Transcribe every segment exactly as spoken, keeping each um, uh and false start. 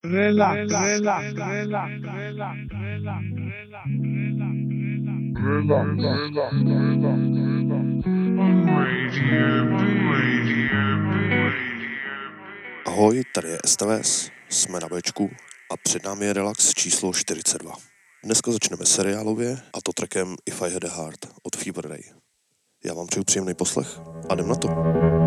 Relax, relax, relax, relax, relax, relax, Ahoj, tady je S T V S, jsme na Bčku a před námi je Relax číslo čtyřicet dva. Dneska začneme seriálově a to trackem If I Had a Heart od Fever Ray. Já vám přeju příjemný poslech a jdem na to.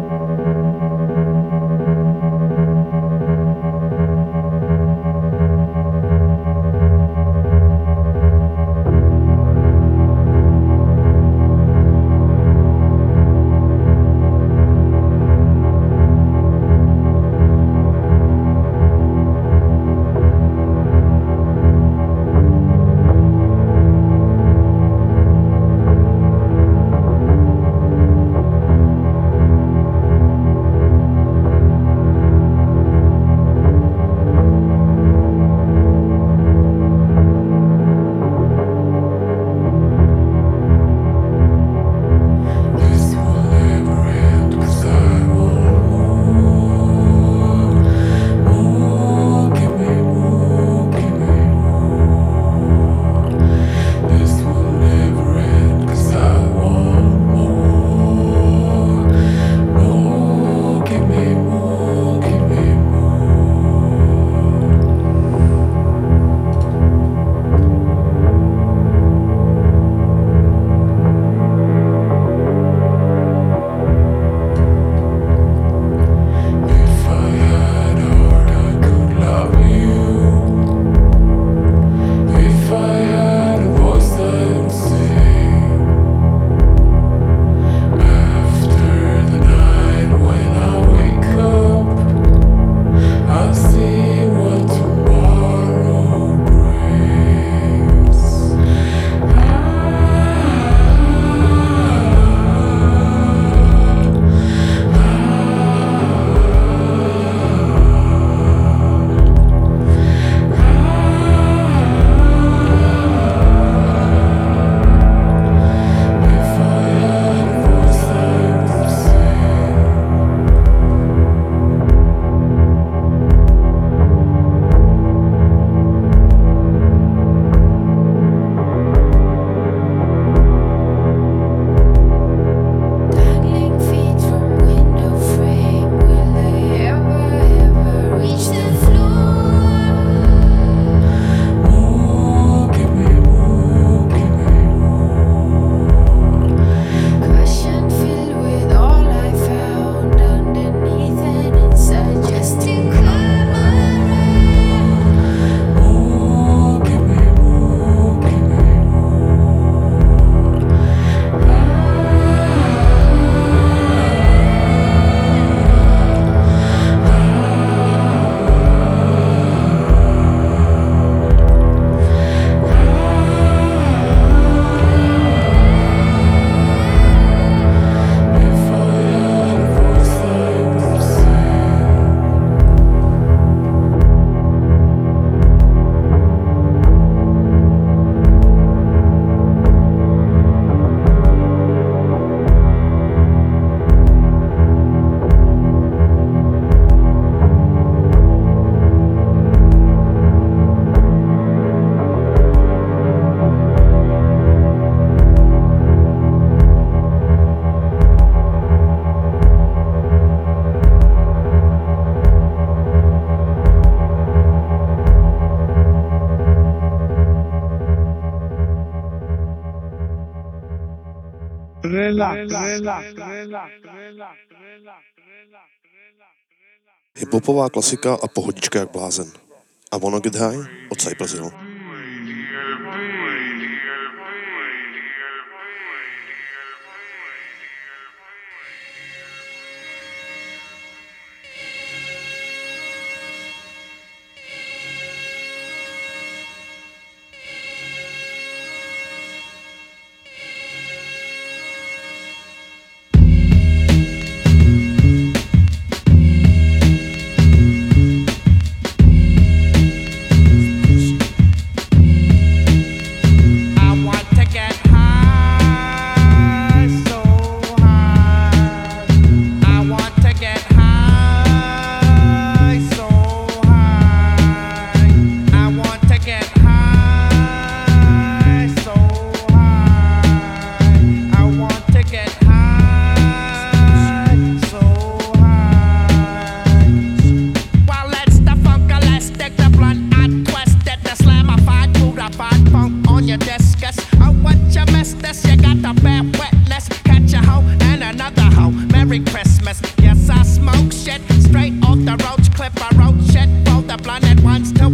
Hiphopová klasika a pohodička jak blázen. A Wanna Get High od Cypress Hill.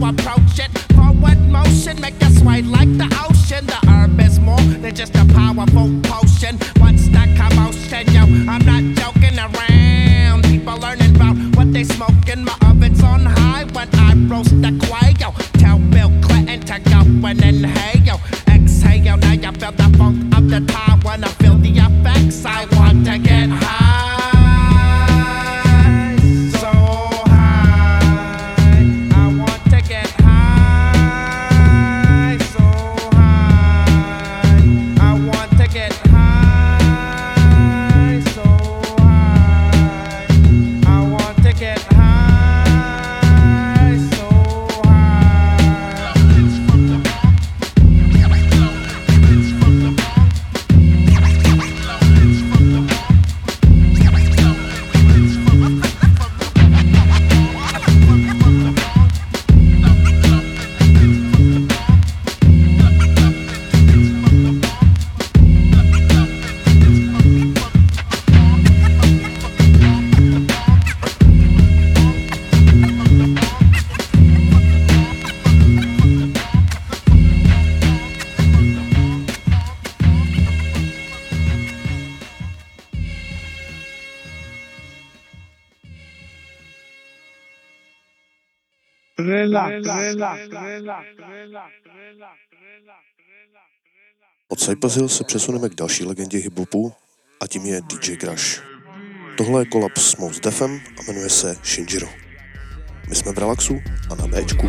approach it. Forward motion, make you sway like the ocean. The herb is more than just a powerful potion. What's the commotion, yo? I'm not joking around. People learning about what they smoking. My oven's on high when I roast the quail. Tell Bill Clinton to go and inhale. Exhale, now you feel the funk of the time. When I feel the effects, I want to get high. So high, I want to get high. So high, I want to get high. So high, I want to get high. So Od Cypress Hill se přesuneme k další legendě hiphopu a tím je D J Crush. Tohle je kolab s Mos Defem a jmenuje se Shinjiro. My jsme v Relaxu a na Bčku.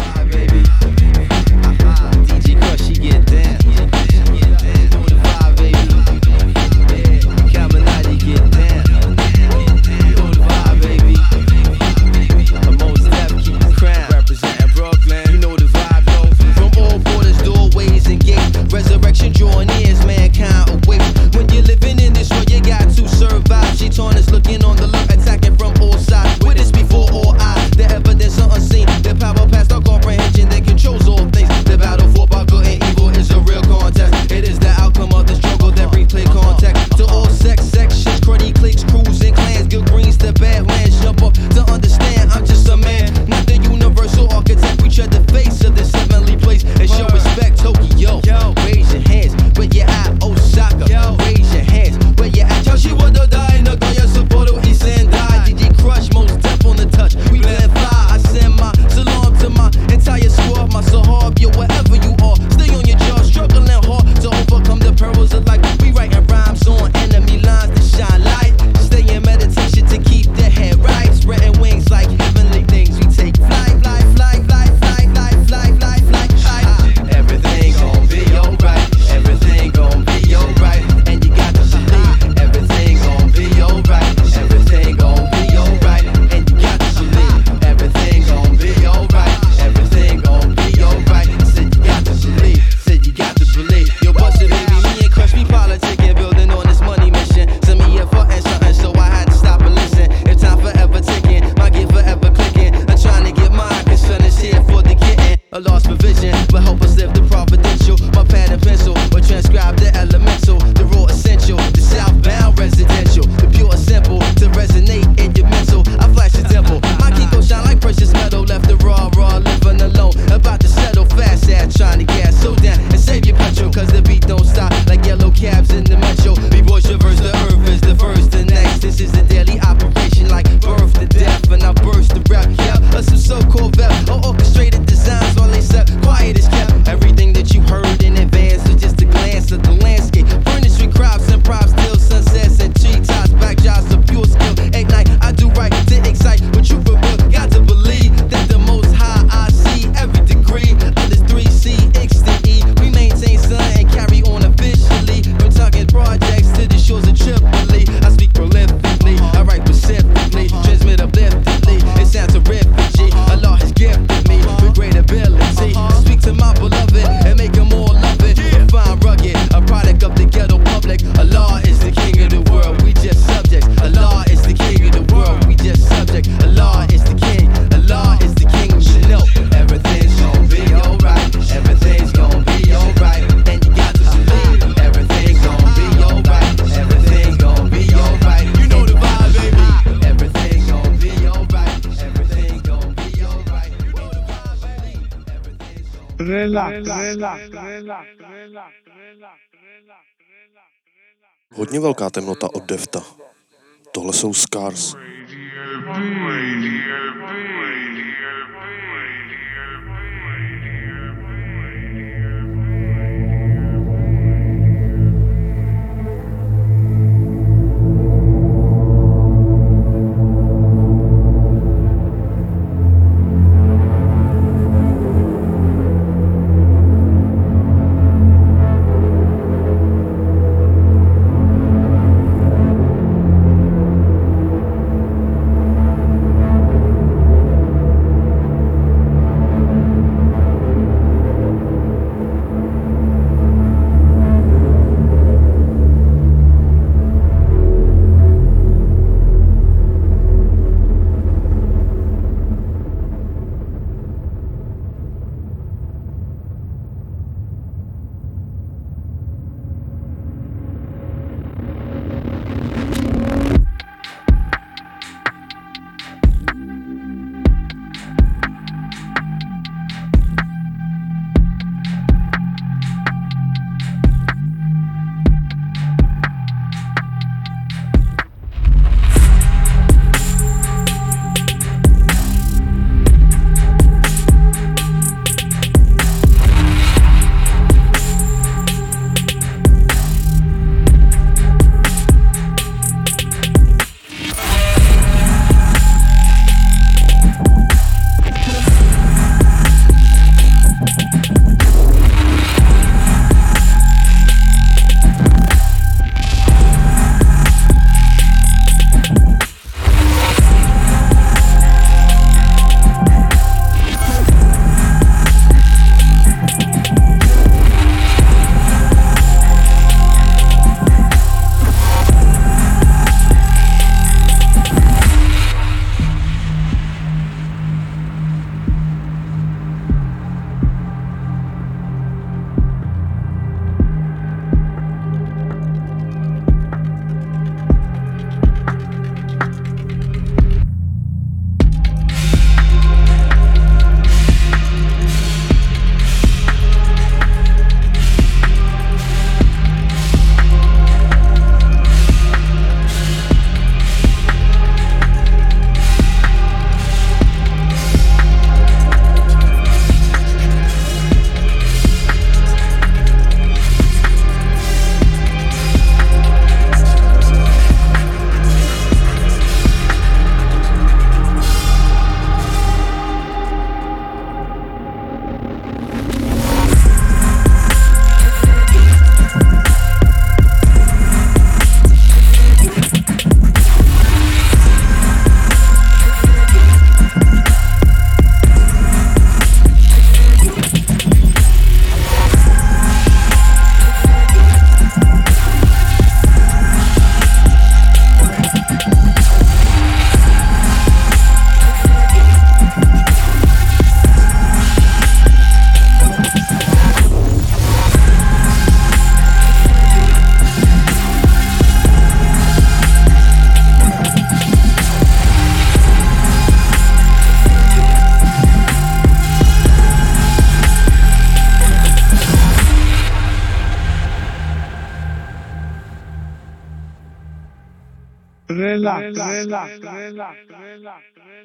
Resurrection drawing near as mankind awaits. When you're living in this world, you got to survive. She torn is looking on the look, attacking from all sides. Witness before all eyes, the evidence are unseen. The power past our comprehension that controls all things. The battle fought by good and evil is a real contest. It is the outcome of the struggle that replay contact. To all sex sections, cruddy cliques, crews and clans, good greens to badlands. Jump up to understand, I'm just a man, not the universal architect. We tread the face of this heavenly place and show respect. Tokyo, raise your hands, where you at, Osaka, raise your hands, where you at. Tell she would have died, Nagoya, Sapporo, East and die. D J Crush, Most Def on the touch. We blend fly, I send my salam to my entire squad, my sahab, yo, wherever you are. Stay on your jaw, struggling hard to overcome the perils of life. We writing rhymes on enemy lines to shine light. Stay in meditation to keep the head right. Spreading wings like heavenly things. We take flight, fly, fly, fly, fly, fly, fly, fly, fly, fly. Everything gon' be alright. Everything gon' be alright. And you got to believe. Everything gon' be alright. Everything gon' be alright. And you got to believe. Everything gon' be alright. Everything gon' be alright. Said you got to believe. Said you got to believe. Yo, busted baby, me and Crush, we politicking, building on this money mission. Send me here for something, so I had to stop and listen. If time forever ticking, my gift forever clicking. I'm trying to get mine, cause son is here for the getting. A lost provision, but help us live the providential. My pad and pencil, or transcribe the elemental, the raw essential, the southbound residential, the pure and simple, to resonate in your mental. I flash the devil, my king gon' shine like precious metal. Left the raw, raw, living alone, about to settle fast ass, trying to gas so down and save your petrol, cause the beat don't stop like yellow cabs in the metro. We boys traverse the earth is the first, the next. This is the daily operation like birth to death, and I burst the rap, yeah, us some so-called vet, or orchestrated designs while they set quiet is kept. Everything that you heard in advance was just a glance of the landscape. Furnished with crops and props. Relax, relax, relax, relax. Hodně velká temnota od Defta. Tohle jsou Scars. Relax, relax, relax, relax.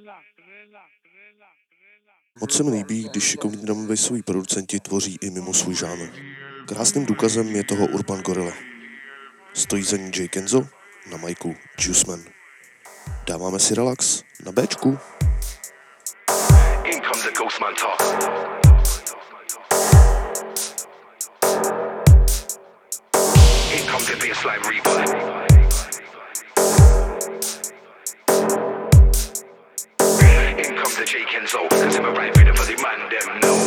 Moc se mi líbí, když šikovní drumbasoví producenti tvoří i mimo svůj žánr. Krásným důkazem je toho Urban Gorilla. Stojí za ní Jay Kenzo, na majku Juice Man. Dáváme si relax na Bčku. In comes the Ghostman talk. In comes the bassline reaper. In comes the Jay Kenzo, cause I'm a right rhythm for the man them know.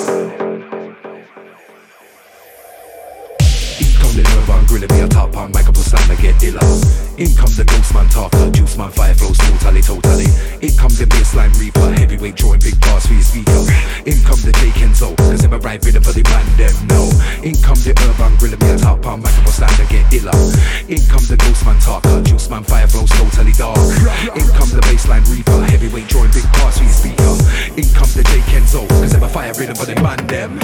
In come the Urban Gorilla, be a top on mic up a slam and get illa. In come the ghost man talker, juice man fire flows totally, totally. In come the bassline reaper, heavyweight drawing big bars for your speaker. In come the J Kenzo, cause I'm a right rhythm for the man them know. In come the urban griller, me a top on microphone stand and get iller. In come the ghost man talker, juice man fire flows totally dark. In come the bassline reaper, heavyweight drawing big bars for your speaker. In come the J Kenzo, cause I'm a fire rhythm for the man them.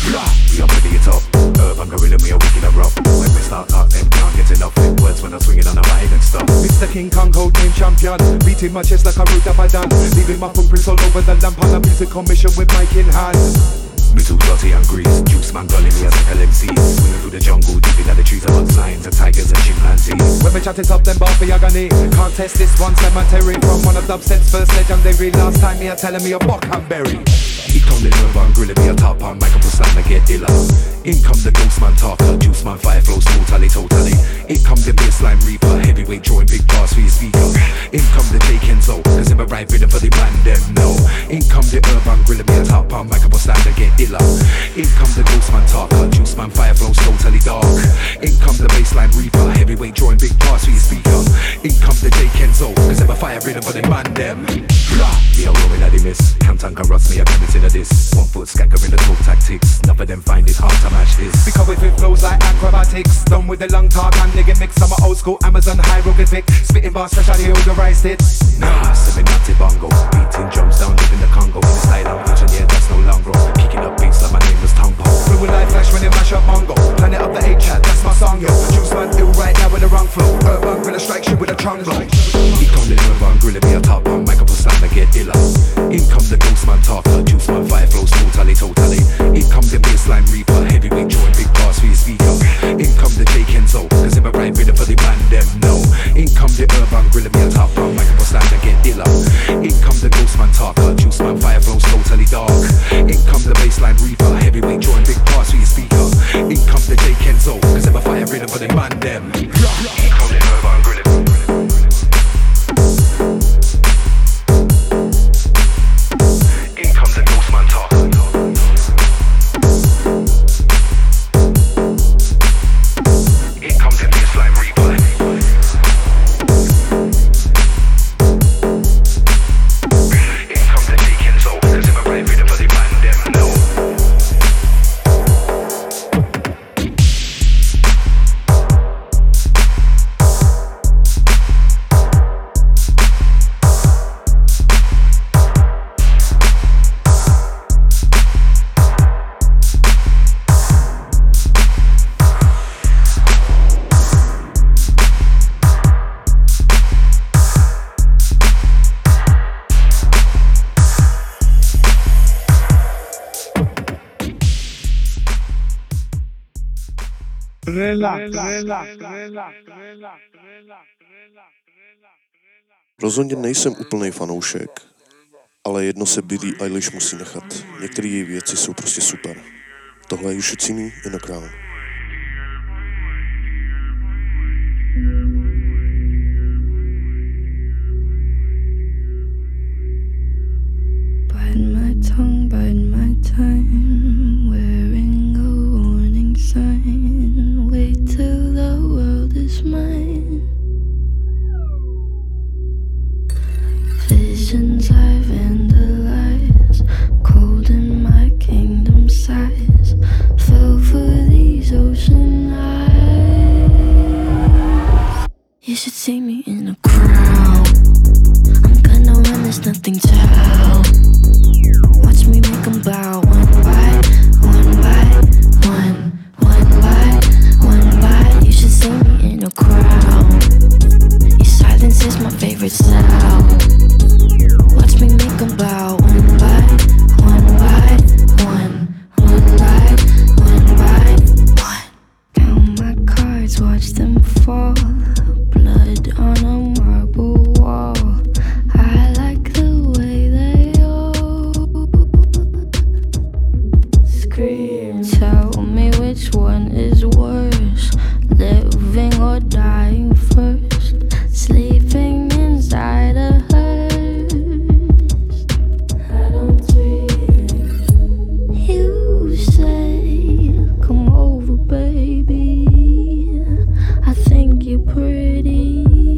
We are ready it up, urban gorilla, we are wicked and rough. When we start talk, them can't get enough with words when I'm swinging on the mic and stuff. Mister King Kong, code name champion, beating my chest like a root of a done, leaving my footprints all over the lamp on a music commission with mic in hand. Me too dirty and grease, juice man gully me as like L M Cs. Swinging through the jungle, deep in the trees about signs of tigers and chimpanzees. When we chat it up, them bar for your agony. Can't test this one cemetery from one of Dubstep's first legendary. Last time me a telling me a buck and berry. He come the urban griller, me a top on microphone stand and get iller. In come the ghost man talker, juice man fire flows totally, totally. In come the bassline reaper, heavyweight drawing big bars for your speaker. In come the J Kenzo, cause I'm a right rhythm for the man them know. In come the urban griller, me a top on microphone stand and get iller. In come the ghost man talker, juice man fire flows totally dark. In come the bassline reaper, heavyweight drawing big bars for your speaker. In come the J Kenzo, cause I'm a fire rhythm for the man them. Me a rolling at the miss, Canton can rust me a consider this. One foot skanker in the toe tactics, none of them find it hard to match this. Because if it flows like acrobatics, done with the long talk and nigga mix. I'm a old school Amazon hieroglyphic, spitting bars fresh out the odorized it. Nah, seminati bongo, beating drums down deep in the Congo. In the style I'm pushing, yeah, that's no longer. Kicking up beats like my name was Tombo. Fluid like flash when they mash up Mongo. Planet of the eight-chat, that's my song, yo. Juice man ill right now with the wrong flow. Urban griller strikes you with a chongo. He come the urban griller, be a top on microphone stand and get iller. In come the ghost man talker, juice man fire flows totally, totally. In come the bassline reaper, heavyweight drawing big bars for your speaker. In come the J Kenzo, cause I'm a right rhythm for the man them know. In come the urban griller, be a top on microphone stand and get iller. In come the ghost man talker, juice man fire flows totally dark. In come the bassline reaper, heavyweight drawing big bars for your speaker. In come the J Kenzo, cause I'm a fire rhythm for the man them. In come the urban griller. Rozhodně nejsem úplnej fanoušek, ale jedno se Billie Eilish musí nechat. Některé její věci jsou prostě super. Tohle je You Should See Me in a Crown. Bite my tongue, bite my time, wearing a warning sign. Wait till the world is mine. Visions I vandalize, cold in my kingdom size. Fell for these ocean eyes. You should see me in a crown. I'm gonna run, there's nothing to help. Watch me make them bow one by one by one, one by one by. You should see me in a crown. Your silence is my favorite sound. Watch me make them bow one by one by one, one by one by one. Count my cards, watch them fall. Blood on a marble wall. I like the way they all scream. Tell me which one is worse, living or dying first. Sleeping inside a hearse. I don't dream. You say, come over, baby. I think you're pretty.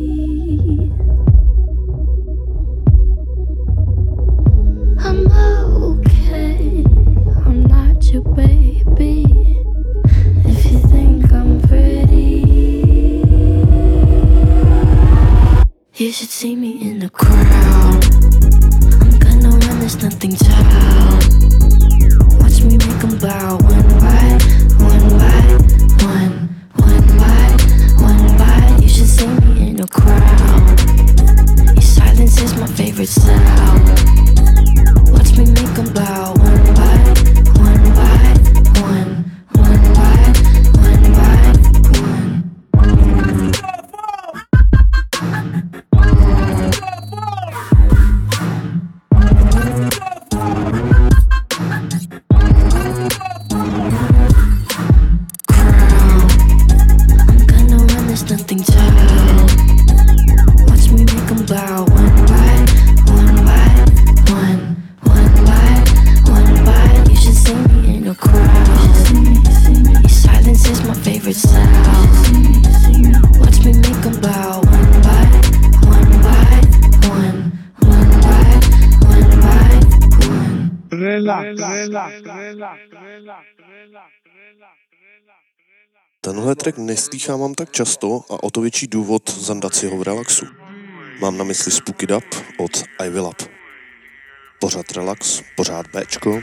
should see me in the crowd. I'm gonna run, there's nothing to watch me make them bow one by one by one, one by one by. You should see me in the crowd. Your silence is my favorite sound. Watch me make them bow one by one by one, one by one by one. Nothing to watch me make them bow one by one by one, one by one by. You should see me in a crowd. Your silence is my favorite sound. Watch me make them bow one by one by one, one by one by one. Relax, relax, relax, relax. Tenhle track neslýchávám tak často a o to větší důvod zandat si ho v relaxu. Mám na mysli Spook It Up od I Will Up. Pořád relax, pořád Bčko.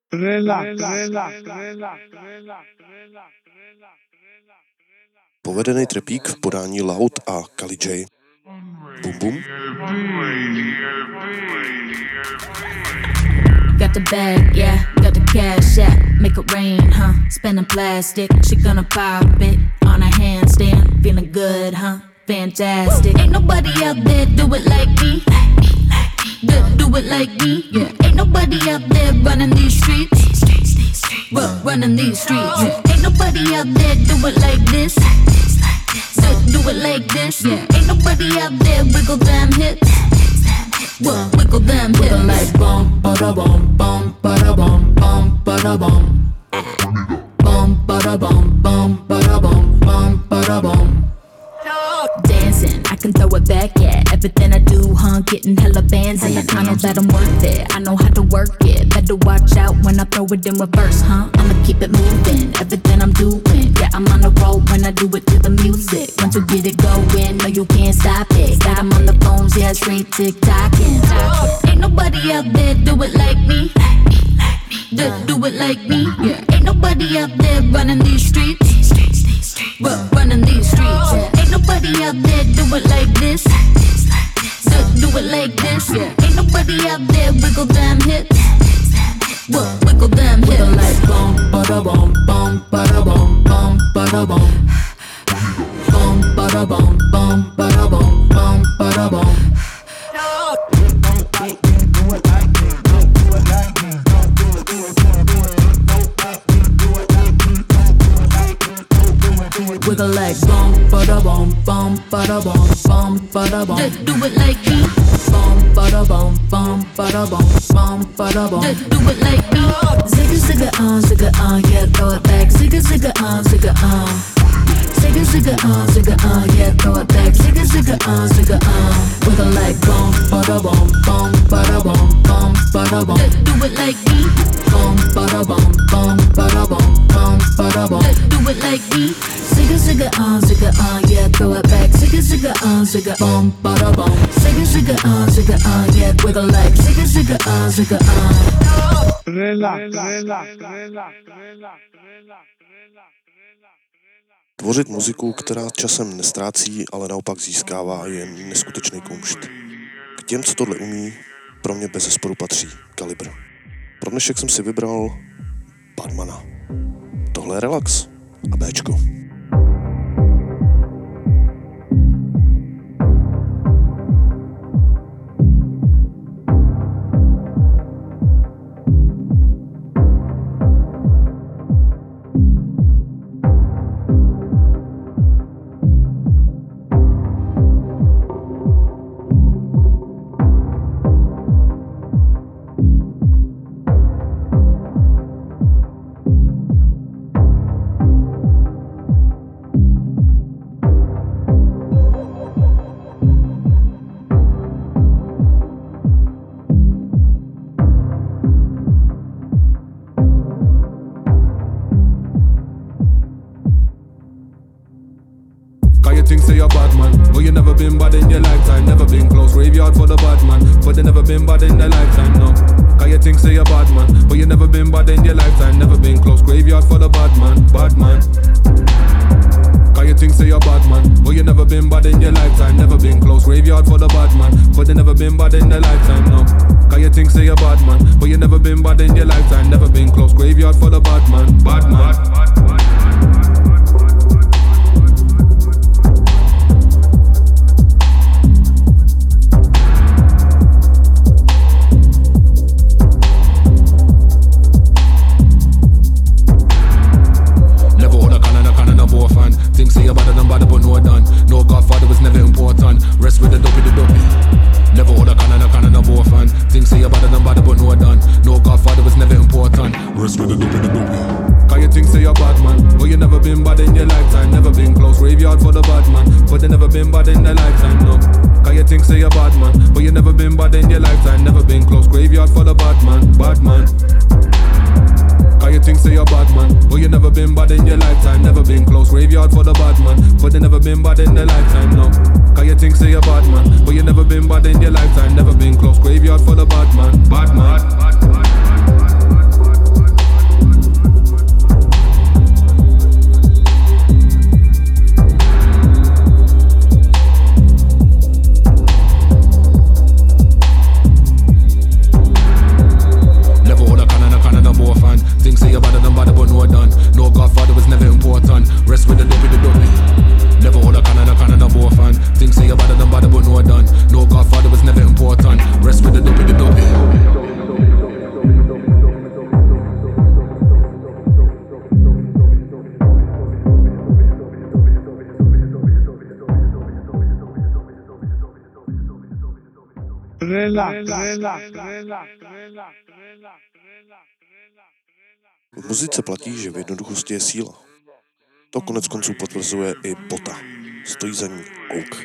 Relax, relax, relax, relax. Povedený trepík v podání Loud a Kali J. Bum bum. Got the bag, yeah, got the cash, yeah. Make it rain, huh? Spending plastic, she gonna pop it on a handstand. Feeling good, huh? Fantastic. Ain't nobody out there do it like me. Do, do it like me, yeah. Ain't nobody out there running these streets. Run, running these streets. Yeah. Ain't nobody out there do it like this. Do, do it like this, yeah. Ain't nobody out there wiggle them hips. Well, wiggle them hips. Wiggle like bum, bada bum, bum, bada bum, bum, bada bum. Bum, bada bum, bum, bada bum, bum, bada bum. Dancing, I can throw it back at everything I do, huh? Getting hella bands and I know that I'm worth it. I know how to work it. Better watch out when I throw it in reverse, huh? I'ma keep it moving, everything I'm doing. Yeah, I'm on the road when I do it to the music. Once you get it going, no you can't stop it. Got 'em on the phones, yeah, straight tick-tocking. Ain't nobody out there do it like me. Do, do it like me, yeah. Ain't nobody out there running these streets. Run, running these streets, yeah. Ain't nobody out there do it like this. Do, do it like this, yeah. Ain't nobody out there wiggle them hips. Well, wiggle them hips. Wiggle like bum, bada bum, bum, bada bum, bum, bada bum. Bum, bada bum, bum, bada bum, bum, bada bum. Wiggle like bum, bada bum, bum, bada bum, bum, bada bum. Do, do it like me. Bum, bada bum, bum, bada bum, bum, bada bum. Do, do it like me. Zigga zigga on, zigga on, yeah, throw it back. Zigga zigga on, zigga on. Zigga zigga on, zigga on, yeah, throw it back. Zigga zigga on, zigga on. Wiggle like bum, bada bum, bum, bada bum, bum, bada bum. Do, do it like me. Bum, bada bum, bum, bada bum, bum, bada bum. Do, do it like me. Zigga zigga on, zigga on, yeah, throw it back. Zigga zigga on, zigga bum, bada bum. Zigga zigga on, zigga on, yeah, wiggle like. Zigga zigga on, zigga on. Relax, relax, relax, relax. Tvořit muziku, která časem nestrácí, ale naopak získává, je neskutečný kumšt. K těm, co tohle umí, pro mě bezesporu patří Kalibr. Pro dnešek jsem si vybral Badmana. Tohle je Relax a Béčko. Think say you're bad man, but you never been bad in your lifetime. Never been close, graveyard for the bad man, but they never been bad in their lifetime, no. Cause you think say you're bad man, but you never been bad in your lifetime. Never been close, graveyard for the bad man, bad man. Cause you think say you're bad man, but you never been bad in your lifetime. Never been close, graveyard for the bad man, but they never been bad in their lifetime, no. Cause you think say you're bad man, but you never been bad in your lifetime. Never been close, graveyard for the bad man, bad man. Bad, bad, bad. Think say you're better than bad, but no done. No Godfather was never important. Rest with the dopey, the dopey. Never hold a can and a can and a boy fan. Think say you're better than bad, but no done. No Godfather was never important. Rest with the dopey, the dopey. Cause you think say you're bad man, but you never been bad in your lifetime. Never been close, graveyard for the bad man, but they never been bad in their lifetime, no. Cause you think say you're bad man, but you never been bad in your lifetime. Never been close, graveyard for the bad man, bad man. Cause you think say you're bad man, but you never been bad in your lifetime. Never been close, graveyard for the bad man, but they never been bad in their lifetime, no. Cause you think say you're bad man, but you never been bad in your lifetime. Never been close, graveyard for the bad man, bad man. Bad, bad, bad, bad, bad, bad, bad. V muzice platí, že v jednoduchosti je síla. To konec konců potvrzuje i Bota. Stojí za ní Oak.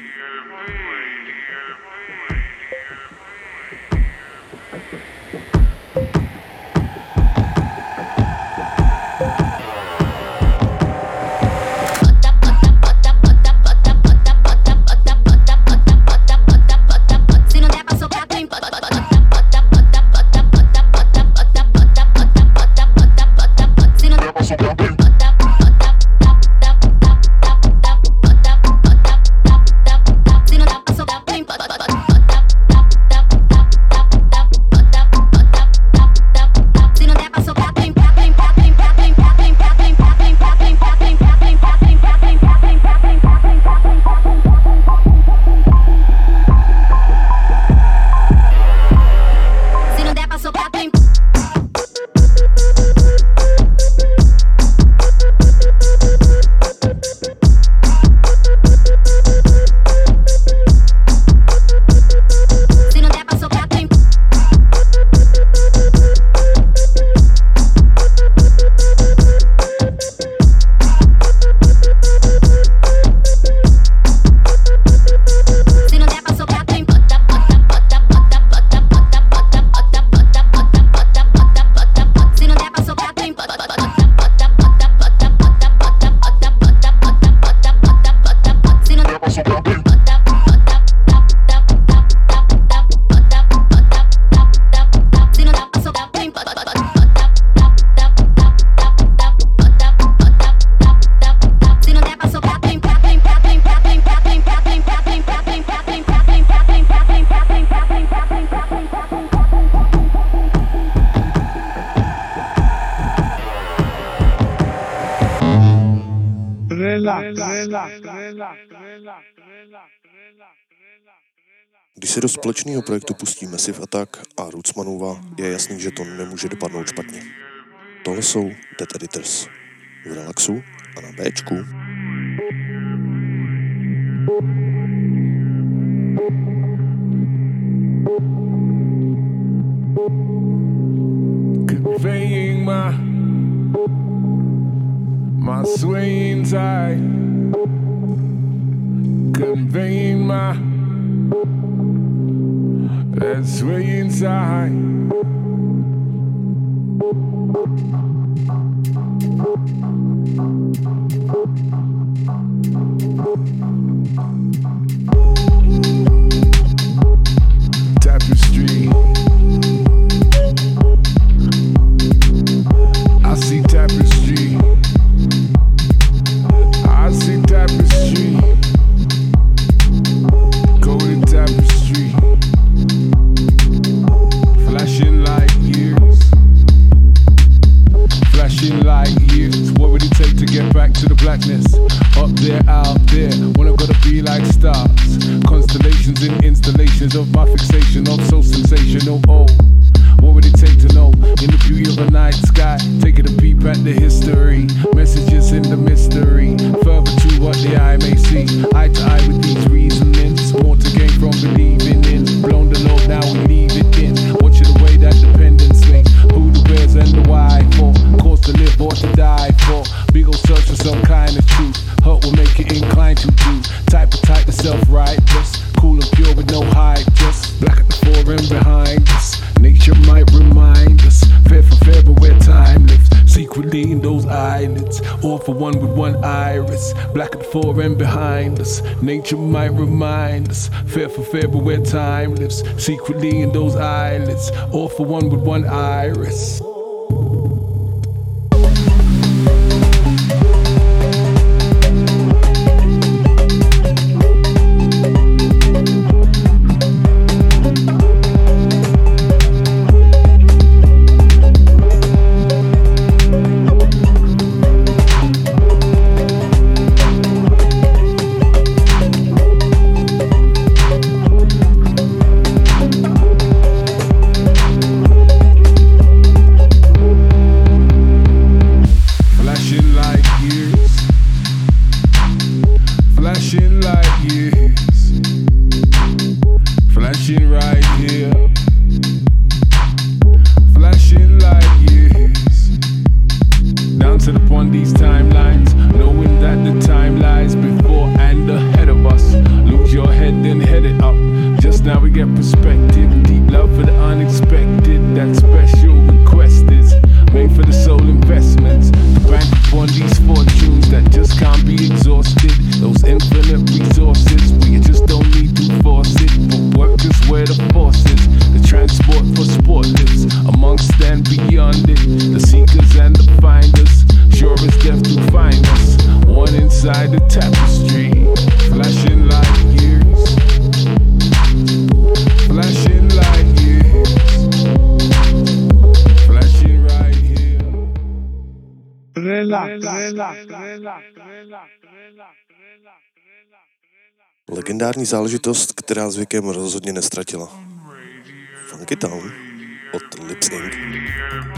Když se do společného projektu pustí Massive Attack a Rootsmanova, je jasný, že to nemůže dopadnout špatně. Tohle jsou Dead Editors. V Relaxu a na Bčku. Conveying my my swaying tide, conveying my that swaying tide. Tapestry, I see tapestry, I see tapestry, golden tapestry, flashing like years, flashing like years. What would it take to get back to the blackness? Up there, out there, when I gotta be like stars, constellations and installations of my fixation of so sensational. Oh, what would it take to know in the beauty of a night sky? Taking a peep at the history, messages in the mystery, further to what the eye may see. Eye to eye with these reasonings, more to gain from believing in. Blown the load, now we leave it in. Watching the way that dependence swing. Who the where's and the why for? Cause to live or to die for. Big ol' search for some kind of truth. Hurt will make you inclined to do. Type of type to self-righteous. Cool and pure with no hype, just black at the fore and behind us. Nature might remind us, fair for fair but where time lives. Secretly in those eyelids, all for one with one iris. Black at the fore and behind us. Nature might remind us, fair for fair but where time lives. Secretly in those eyelids, all for one with one iris. that special request is made for the soul investments. To bank upon these fortunes that just can't be exhausted. Those infinite resources where you just don't need to force it. But work is where the force is. The transport for sport lives amongst and beyond it. The seekers and the finders, sure as death to find us. One inside the tapestry, flashing like years, flashing like years, flashing right here. Relax, relax, relax, relax. Legendární záležitost, která s věkem rozhodně nestratila. Funky Town od Lips Incorporated.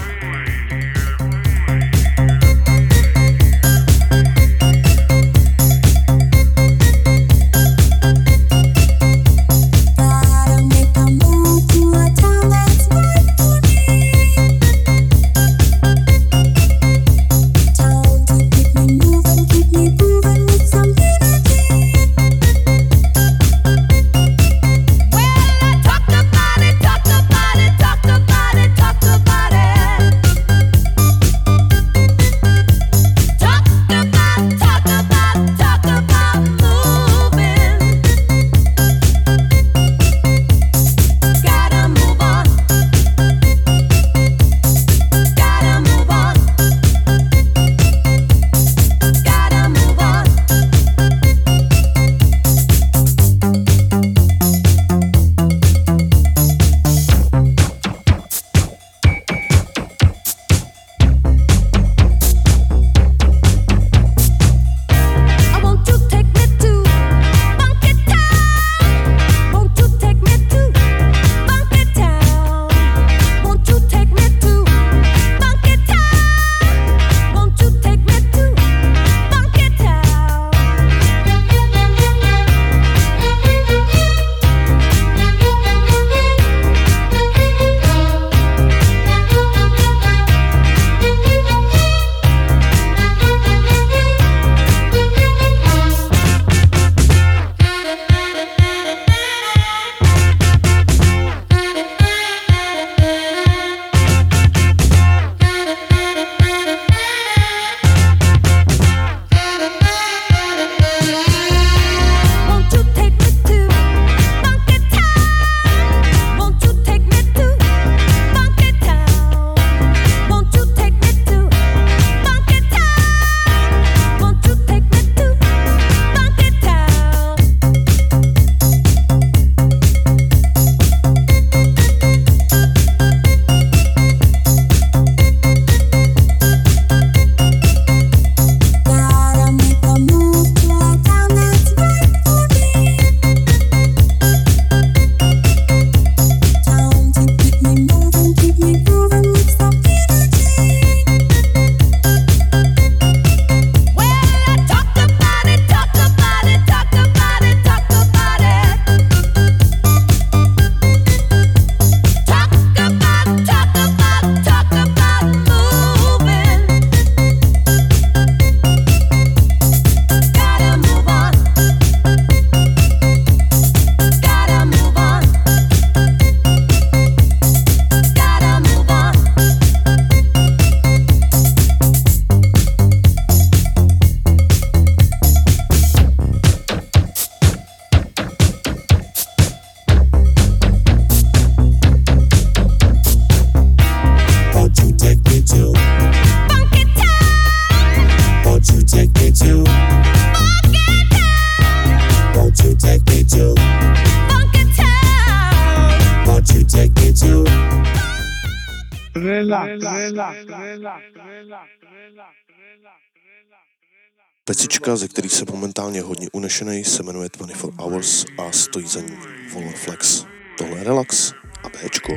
Pecička, ze kterých se momentálně hodně unešenej, se jmenuje dvacet čtyři Hours a stojí za ní Volon Flex. Tohle je Relax a Bčko.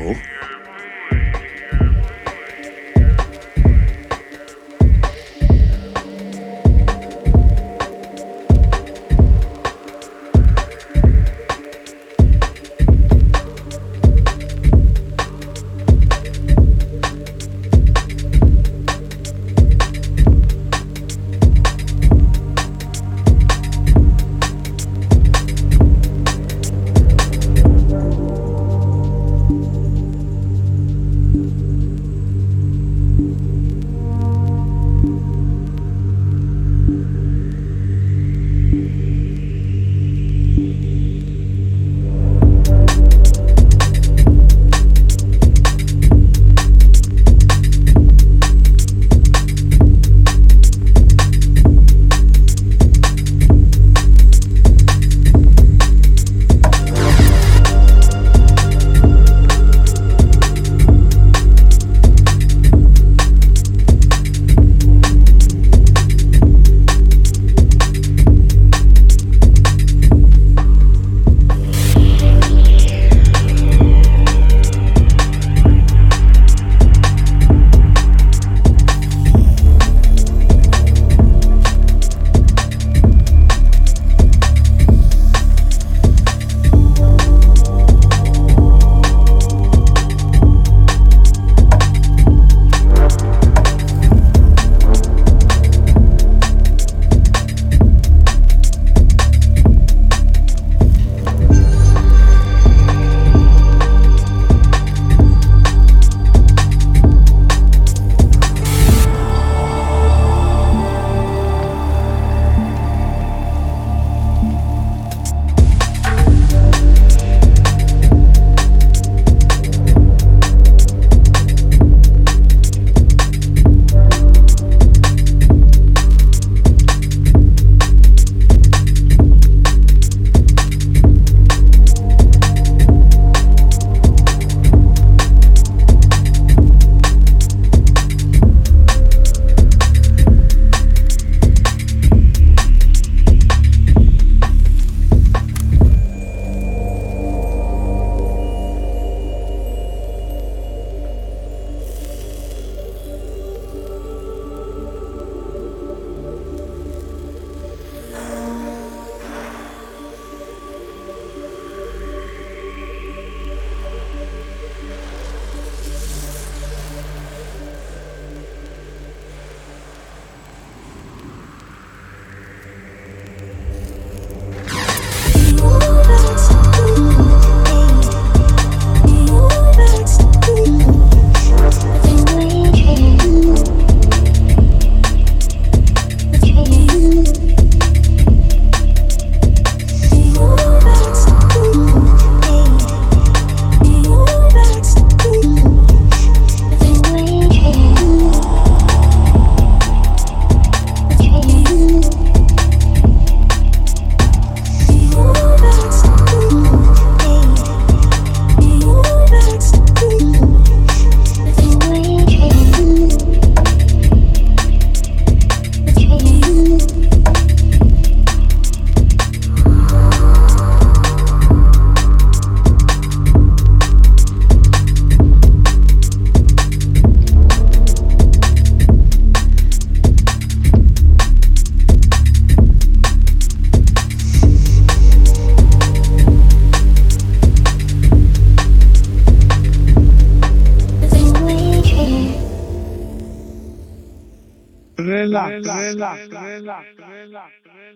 Relax, relax, relax, relax.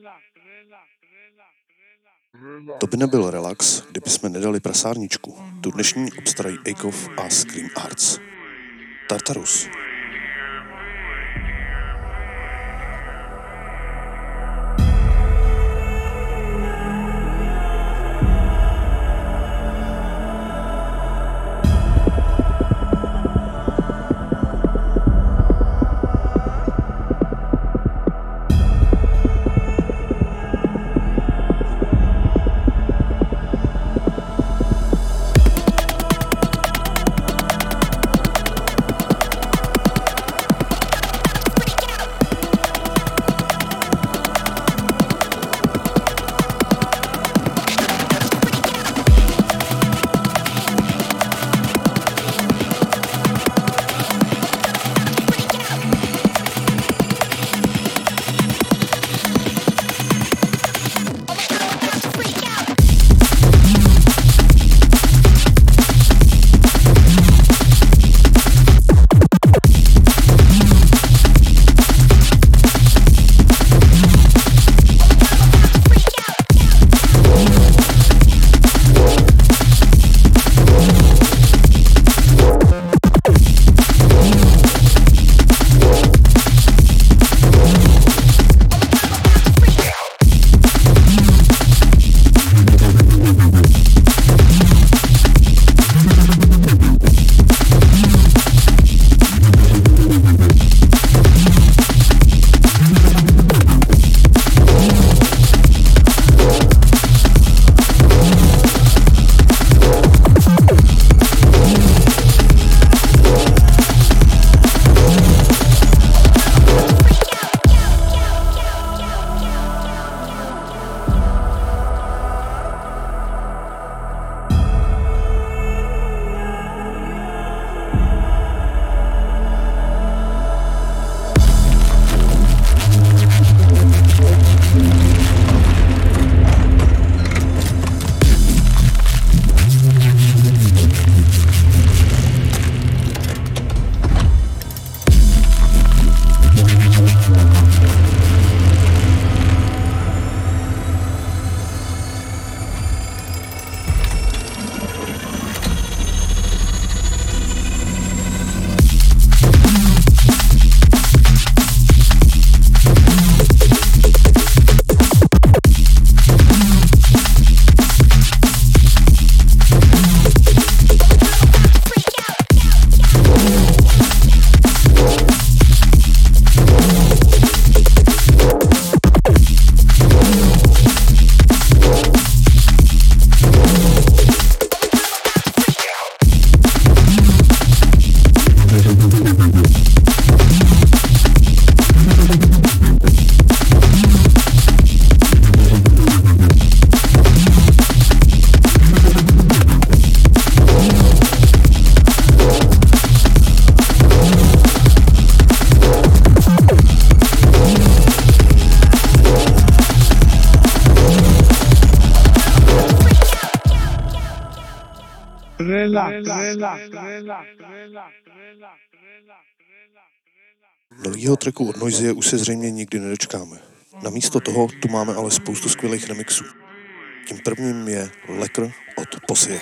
To by nebyl relax, kdyby jsme nedali prasárničku. Tu dnešní obstarají Akov a Scream Arts. Tartarus. Novýho tracku od Noisy už se zřejmě nikdy nedočkáme. Namísto toho tu máme ale spoustu skvělých remixů. Tím prvním je Lekr od Posie.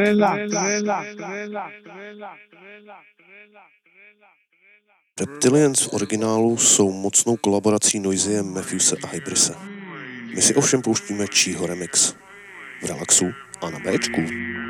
Reptilians v originálu jsou mocnou kolaborací Noiseye, Matthewse a Hybrise. My si ovšem pouštíme Čího remix v Relaxu a na Bčku.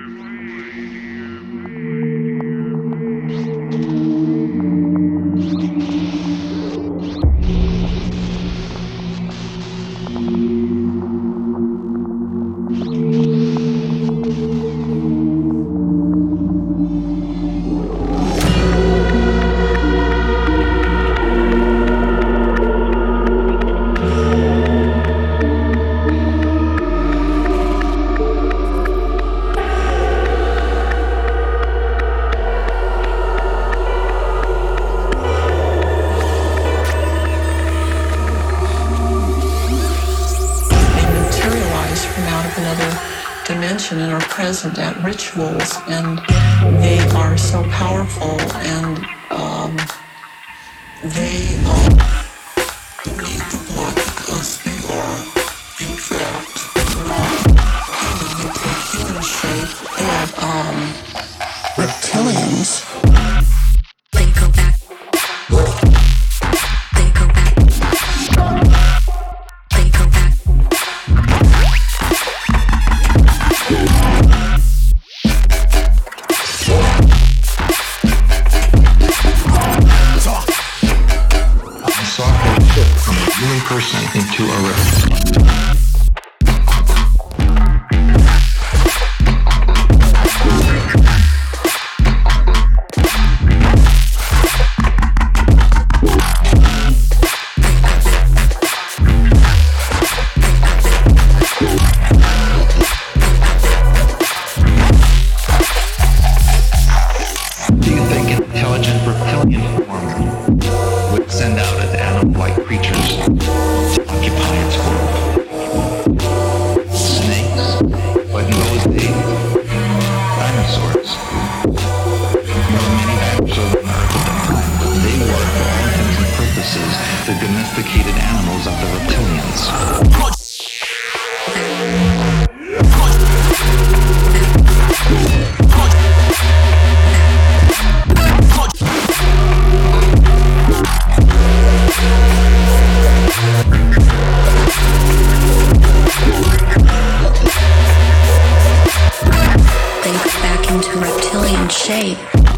And are present at rituals, and they are so powerful, and um, they um, need the blood because they are, in fact, human shape and um, reptilians. They go back. They go back. They go back. Human person into a reptile. Do you think intelligent reptilian form would send out an animal-like creatures to occupy its world? Snakes, but in those days, dinosaurs. There were many dinosaurs on Earth at the time, but they were, for all intents and purposes, the domesticated animals of the reptilians. They go back into reptilian shape.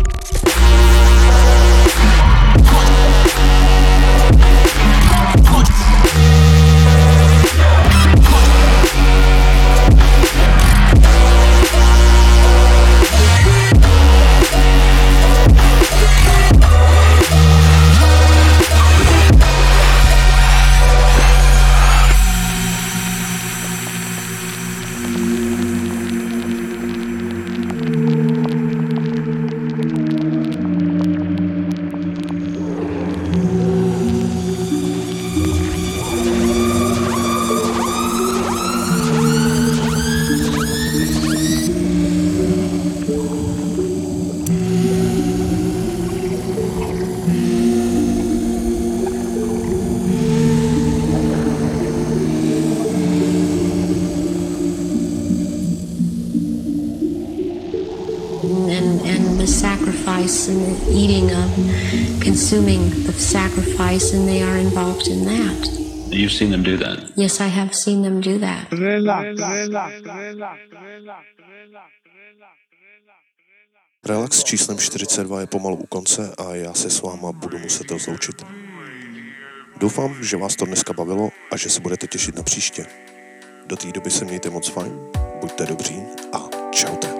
And, and the sacrifice and the eating of, consuming the sacrifice, and they are involved in that. You've seen them do that? Yes, I have seen them do that. Relax číslem čtyřicet dva je pomalu u konce a já se s váma budu muset rozloučit. Doufám, že vás to dneska bavilo a že se budete těšit na příště. Do té doby se mějte moc fajn, buďte dobří a čaute.